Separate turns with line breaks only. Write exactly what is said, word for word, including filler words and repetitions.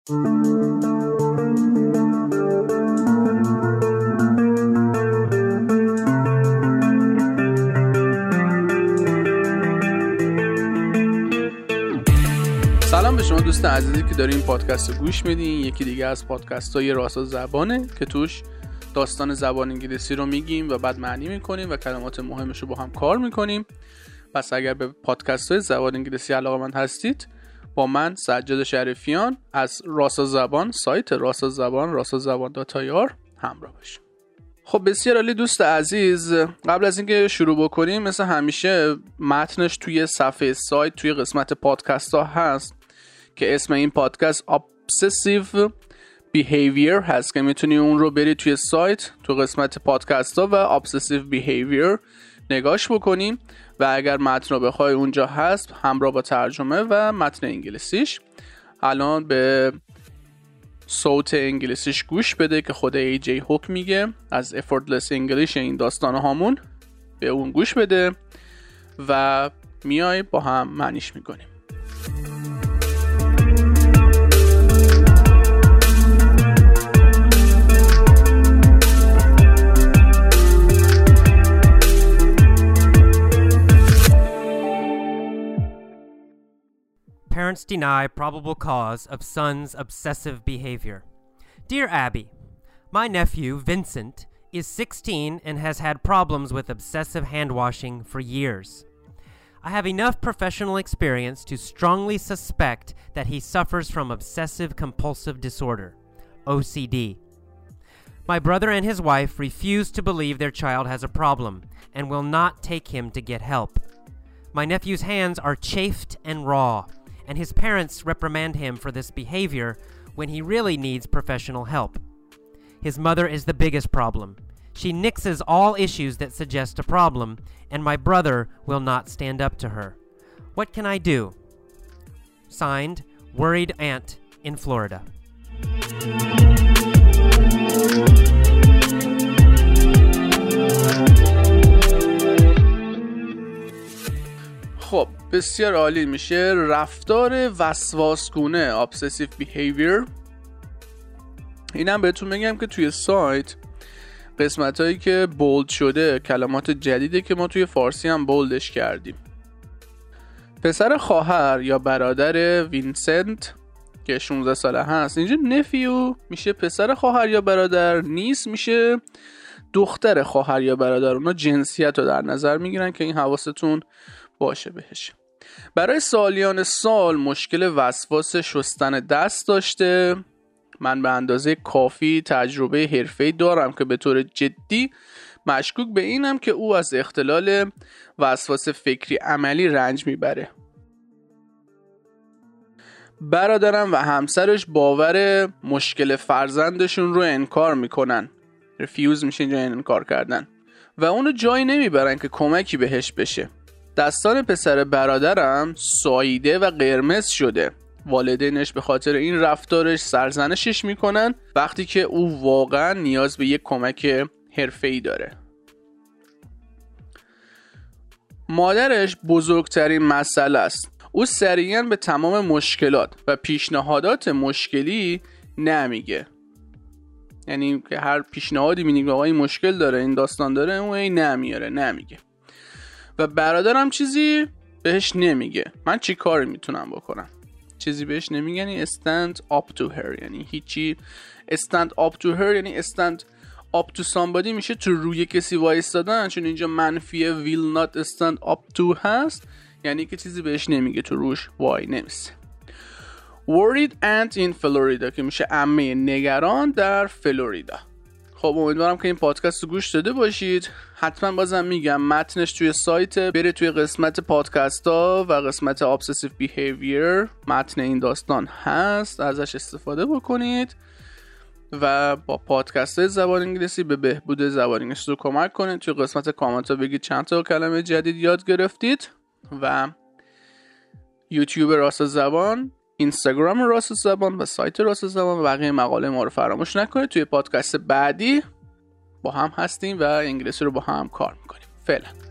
سلام به شما دوست عزیزی که دارین این پادکست رو گوش میدین. یکی دیگه از پادکست های راسا زبانه که توش داستان زبان انگلیسی رو میگیم و بعد معنی میکنیم و کلمات مهمش رو با هم کار میکنیم. پس اگر به پادکست های زبان انگلیسی علاقه‌مند هستید با من سجاد شریفیان از راسا زبان، سایت راسا زبان راسا زبان دات آی آر همراه باشید. خب بسیار عالی دوست عزیز، قبل از اینکه شروع بکنیم مثل همیشه متنش توی صفحه سایت توی قسمت پادکست ها هست که اسم این پادکست Obsessive Behavior هست که میتونی اون رو بری توی سایت تو قسمت پادکست ها و Obsessive Behavior نگاش بکنیم و اگر متن رو بخوای اونجا هست همراه با ترجمه و متن انگلیسیش. الان به صوت انگلیسیش گوش بده که خود ای جی هوک میگه از Effortless English این داستان هامون، به اون گوش بده و میای با هم معنیش میکنیم.
Parents deny probable cause of son's obsessive behavior. Dear Abby, my nephew, Vincent, is sixteen and has had problems with obsessive hand-washing for years. I have enough professional experience to strongly suspect that he suffers from obsessive-compulsive disorder, O C D. My brother and his wife refuse to believe their child has a problem and will not take him to get help. My nephew's hands are chafed and raw, and his parents reprimand him for this behavior when he really needs professional help. His mother is the biggest problem. She nixes all issues that suggest a problem, and my brother will not stand up to her. What can I do? Signed, Worried Aunt in Florida.
خب بسیار عالی. میشه رفتار وسواسگونه Obsessive Behavior. اینم بهتون بگم که توی سایت قسمت هایی که بولد شده کلمات جدیده که ما توی فارسی هم بولدش کردیم. پسر خواهر یا برادر وینسنت که شانزده ساله هست، اینجا نفیو میشه پسر خواهر یا برادر، نیس میشه دختر خواهر یا برادر. اونا جنسیت رو در نظر میگیرن که این حواستون باشه بهش. برای سالیان سال مشکل وسواس شستن دست داشته. من به اندازه کافی تجربه حرفه‌ای دارم که به طور جدی مشکوک به اینم که او از اختلال وسواس فکری عملی رنج میبره. برادرم و همسرش باور مشکل فرزندشون رو انکار میکنن. رفیوز میشه اینجا انکار کردن و اونو جایی نمیبرن که کمکی بهش بشه. دستان پسر برادرم ساییده و قرمز شده. والدینش به خاطر این رفتارش سرزنشش میکنن وقتی که او واقعا نیاز به یک کمک حرفه‌ای داره. مادرش بزرگترین مسئله است. او سریعا به تمام مشکلات و پیشنهادات مشکلی نمیگه. یعنی که هر پیشنهادی میگه آقا این مشکل داره، این داستان داره، اون این نمیاره، نمیگه. و برادرم چیزی بهش نمیگه. من چی کاری میتونم بکنم؟ چیزی بهش نمیگن یعنی stand up to her، یعنی هیچی. stand up to her یعنی stand up to somebody میشه تو روی کسی وایستادن، چون اینجا منفی will not stand up to هست، یعنی که چیزی بهش نمیگه، تو روش وای نمیسه. worried aunt in Florida که میشه عمه نگران در فلوریدا. خب امیدوارم که این پادکست رو گوش داده باشید. حتما بازم میگم متنش توی سایت، بره توی قسمت پادکست ها و قسمت Obsessive Behavior متن این داستان هست، ازش استفاده بکنید و با پادکست های زبان انگلیسی به بهبود زبان انگلیسی رو کمک کنید. توی قسمت کامنت ها بگید چند تا کلمه جدید یاد گرفتید و یوتیوب راسا زبان، اینستاگرام راسا زبان و سایت راسا زبان و بقیه مقاله ما رو فراموش نکنید. توی پادکست بعدی با هم هستیم و انگلیسی رو با هم کار میکنیم. فعلا